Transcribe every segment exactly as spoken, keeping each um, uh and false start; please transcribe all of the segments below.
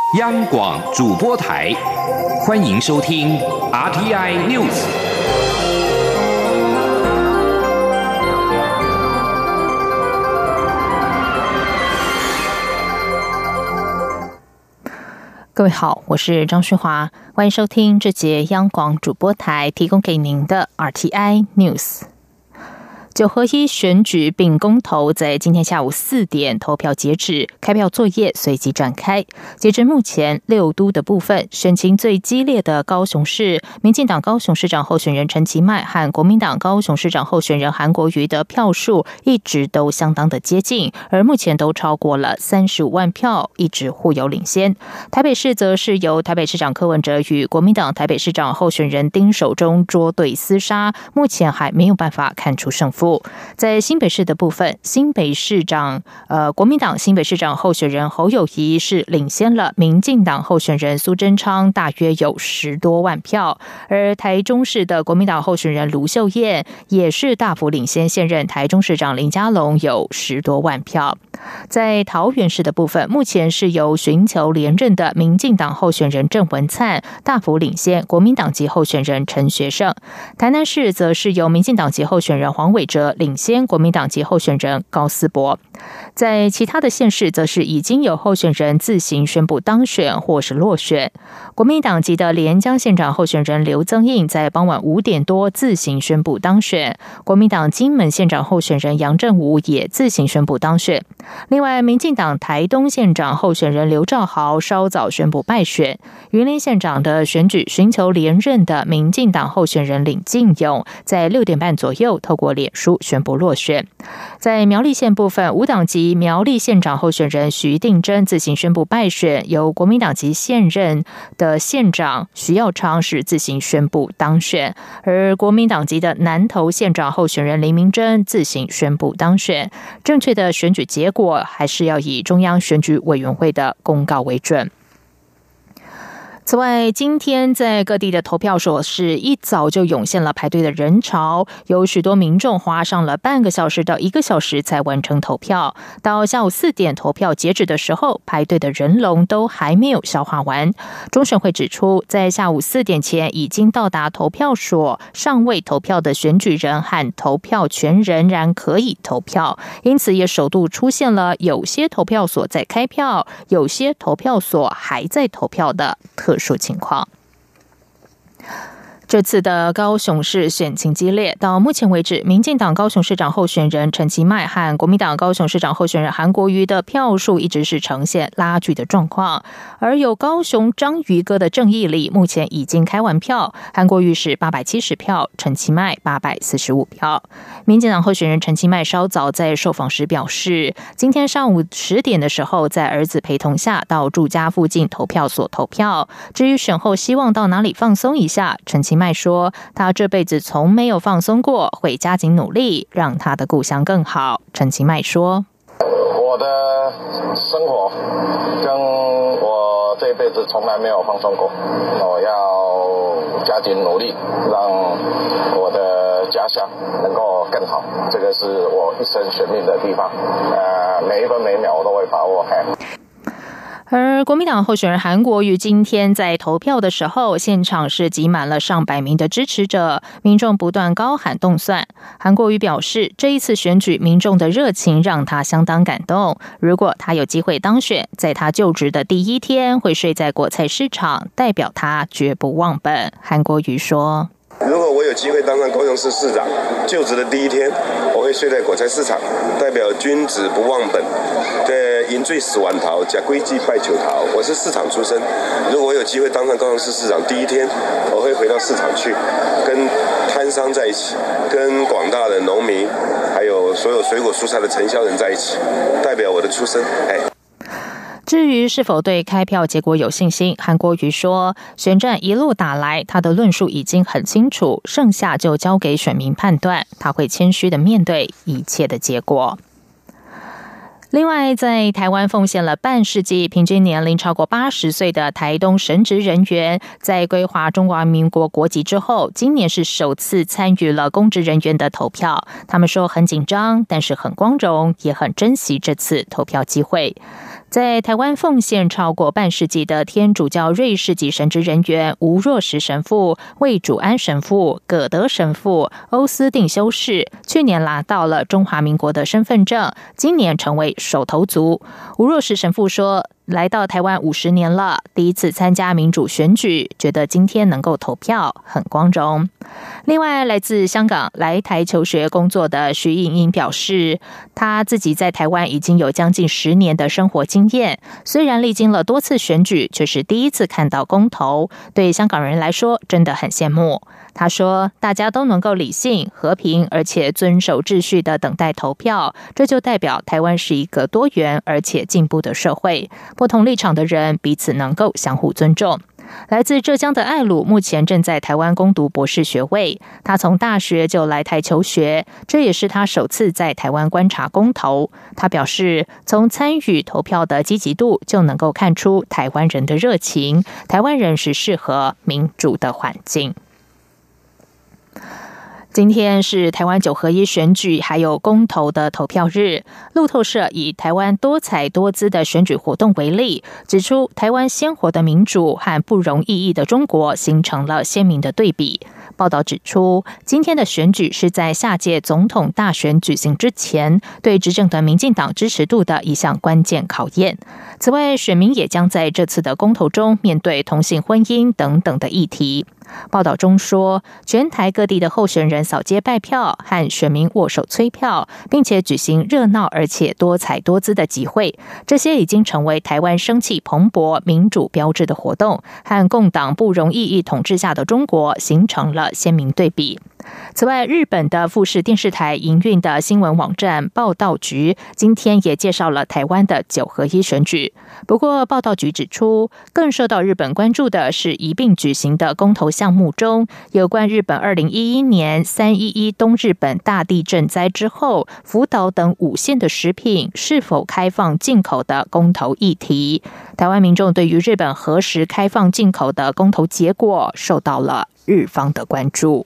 央广主播台，欢迎收听 R T I News。 各位好，我是张旭华，欢迎收听这节央广主播台提供给您的 R T I News。九合一选举并公投在今天下午四点投票截止，开票作业随即展开。截至目前，六都的部分选情最激烈的高雄市，民进党高雄市长候选人陈其迈和国民党高雄市长候选人韩国瑜的票数一直都相当的接近，而目前都超过了三十五万票，一直互有领先。台北市则是由台北市长柯文哲与国民党台北市长候选人丁守中捉对厮杀，目前还没有办法看出胜负。在新北市的部分，新北市长呃国民党新北市长候选人侯友宜是领先了民进党候选人苏贞昌大约有十多万票，而台中市的国民党候选人卢秀燕也是大幅领先现任台中市长林佳龙有十多万票。在桃园市的部分，目前是由寻求连任的民进党候选人郑文灿大幅领先国民党籍候选人陈学圣。台南市则是由民进党籍候选人黄伟哲领先国民党籍候选人高思博。在其他的县市，则是已经有候选人自行宣布当选或是落选。国民党籍的连江县长候选人刘增印在傍晚五点多自行宣布当选，国民党金门县长候选人杨振武也自行宣布当选。另外，民进党台东县长候选人刘兆豪稍早宣布败选。云林县长的选举寻求连任的民进党候选人林进勇在六点半左右透过脸书宣布落选。在苗栗县部分，无党籍苗栗县长候选人徐定珍自行宣布败选，由国民党籍现任的县长徐耀昌是自行宣布当选，而国民党籍的南投县长候选人林明珍自行宣布当选。正确的选举结果还是要以中央选举委员会的公告为准。此外，今天在各地的投票所是一早就涌现了排队的人潮，有许多民众花上了半个小时到一个小时才完成投票。到下午四点投票截止的时候，排队的人龙都还没有消化完。中选会指出，在下午四点前已经到达投票所尚未投票的选举人和投票权仍然可以投票，因此也首度出现了有些投票所在开票，有些投票所还在投票的特殊情况。这次的高雄市选情激烈，到目前为止，民进党高雄市长候选人陈其迈和国民党高雄市长候选人韩国瑜的票数一直是呈现拉锯的状况。而有高雄章鱼哥的郑义里目前已经开完票，韩国瑜是八百七十票，陈其迈八百四十五票。民进党候选人陈其迈稍早在受访时表示，今天上午十点的时候，在儿子陪同下到住家附近投票所投票。至于选后希望到哪里放松一下，陈其迈说，他这辈子从没有放松过，会加紧努力，让他的故乡更好。陈其迈说， 我的生活跟我这辈子从来没有放松过，我要加紧努力，让我的家乡能够更好，这个是我一生选命的地方，呃，每一分每秒我都会把握。 而国民党候选人韩国瑜今天在投票的时候，现场是挤满了上百名的支持者，民众不断高喊动算。韩国瑜表示，这一次选举民众的热情让他相当感动，如果他有机会当选，在他就职的第一天会睡在果菜市场，代表他绝不忘本。韩国瑜说， 如果我有机会当上高雄市市长，就职的第一天，我会睡在果菜市场，代表君子不忘本。对，饮醉死完桃，假归计拜求桃。我是市场出身，如果我有机会当上高雄市市长，第一天我会回到市场去，跟摊商在一起，跟广大的农民，还有所有水果蔬菜的承销人在一起，代表我的出身。哎。 至于是否对开票结果有信心，韩国瑜说，选战一路打来，他的论述已经很清楚，剩下就交给选民判断，他会谦虚的面对一切的结果。另外，在台湾奉献了半世纪、平均年龄超过八十岁的台东神职人员，在归华中华民国国籍之后，今年是首次参与了公职人员的投票。他们说很紧张，但是很光荣，也很珍惜这次投票机会。 在台湾奉献超过半世纪的天主教瑞士籍神职人员吴若石神父、魏主安神父、葛德神父、欧斯定修士，去年拿到了中华民国的身份证，今年成为首投族。吴若石神父说，来到台湾五十年了，第一次参加民主选举，觉得今天能够投票很光荣。另外，来自香港来台求学工作的徐颖英表示，他自己在台湾已经有将近十年的生活经验，虽然历经了多次选举，却是第一次看到公投，对香港人来说真的很羡慕。他说，大家都能够理性、和平，而且遵守秩序的等待投票，这就代表台湾是一个多元而且进步的社会，不同立场的人彼此能够相互尊重。来自浙江的艾鲁目前正在台湾攻读博士学位，他从大学就来台求学，这也是他首次在台湾观察公投。他表示，从参与投票的积极度就能够看出台湾人的热情，台湾人是适合民主的环境。今天是台湾九合一选举还有公投的投票日，路透社以台湾多彩多姿的选举活动为例，指出台湾鲜活的民主和不容易易的中国形成了鲜明的对比。报道指出，今天的选举是在下届总统大选举行之前，对执政的民进党支持度的一项关键考验。此外，选民也将在这次的公投中面对同性婚姻等等的议题。报道中说，全台各地的候选人扫街拜票，和选民握手催票，并且举行热闹而且多彩多姿的集会，这些已经成为台湾生气蓬勃、民主标志的活动，和共党不容易易统治下的中国形成了鲜明对比。此外，日本的富士电视台营运的新闻网站报道局今天也介绍了台湾的九合一选举。不过，报道局指出，更受到日本关注的是一并举行的公投项目中，有关日本二零一一年三一一东日本大地震灾之后，福岛等五县的食品是否开放进口的公投议题。台湾民众对于日本何时开放进口的公投结果，受到了日方的关注。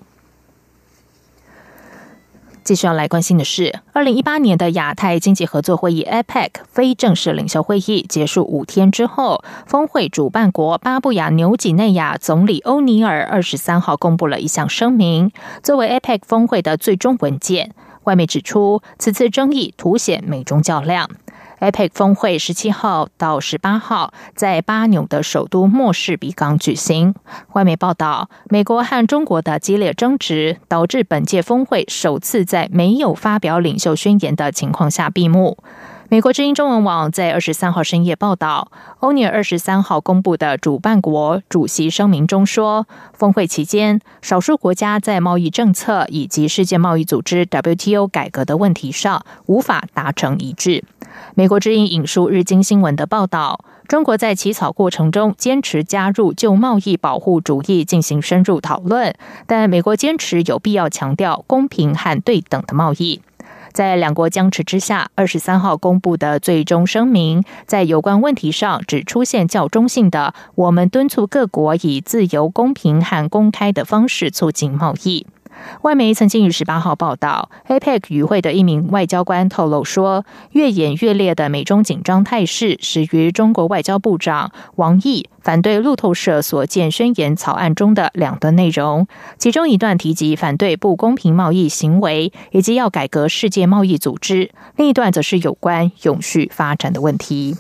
继续要来关心的是，二零一八年的亚太经济合作会议 A P E C 非正式领袖会议结束五天之后，峰会主办国巴布亚纽几内亚总理欧尼尔二十三号公布了一项声明，作为 A P E C 峰会的最终文件。外媒指出，此次争议凸显美中较量。A P E C 峰会十七号到十八号在巴纽的首都莫士比港举行。外媒报道，美国和中国的激烈争执导致本届峰会首次在没有发表领袖宣言的情况下闭幕。美国之音中文网在二十三号深夜报道，欧尼尔二十三号公布的主办国主席声明中说，峰会期间，少数国家在贸易政策以及世界贸易组织 W T O 改革的问题上无法达成一致。美国之音引述日经新闻的报道，中国在起草过程中坚持加入就贸易保护主义进行深入讨论，但美国坚持有必要强调公平和对等的贸易。在两国僵持之下，二十三号公布的最终声明，在有关问题上只出现较中性的“我们敦促各国以自由、公平和公开的方式促进贸易”。外媒曾经于十八号报道 ，A P E C 与会的一名外交官透露说，越演越烈的美中紧张态势，始于中国外交部长王毅反对路透社所见宣言草案中的两段内容，其中一段提及反对不公平贸易行为，以及要改革世界贸易组织，另一段则是有关永续发展的问题。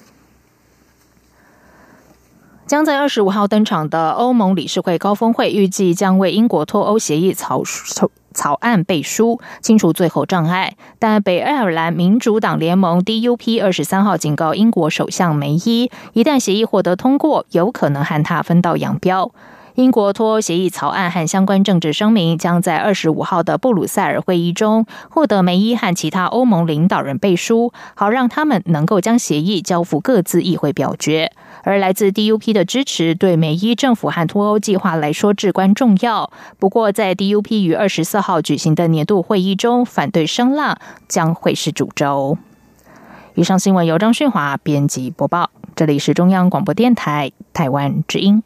将在二十五号登场的欧盟理事会高峰会，预计将为英国脱欧协议草草案背书，清除最后障碍。但北爱尔兰民主党联盟 D U P 二十三号警告英国首相梅伊，一旦协议获得通过，有可能和他分道扬镳。英国脱欧协议草案和相关政治声明将在二十五号的布鲁塞尔会议中获得梅伊和其他欧盟领导人背书，好让他们能够将协议交付各自议会表决。而来自 D U P 的支持对梅伊政府和脱欧计划来说至关重要。不过，在 D U P 于二十四号举行的年度会议中，反对声浪将会是主轴。以上新闻由张训华编辑播报，这里是中央广播电台台湾之音。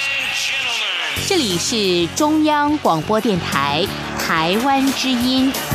这里是中央广播电台台湾之音。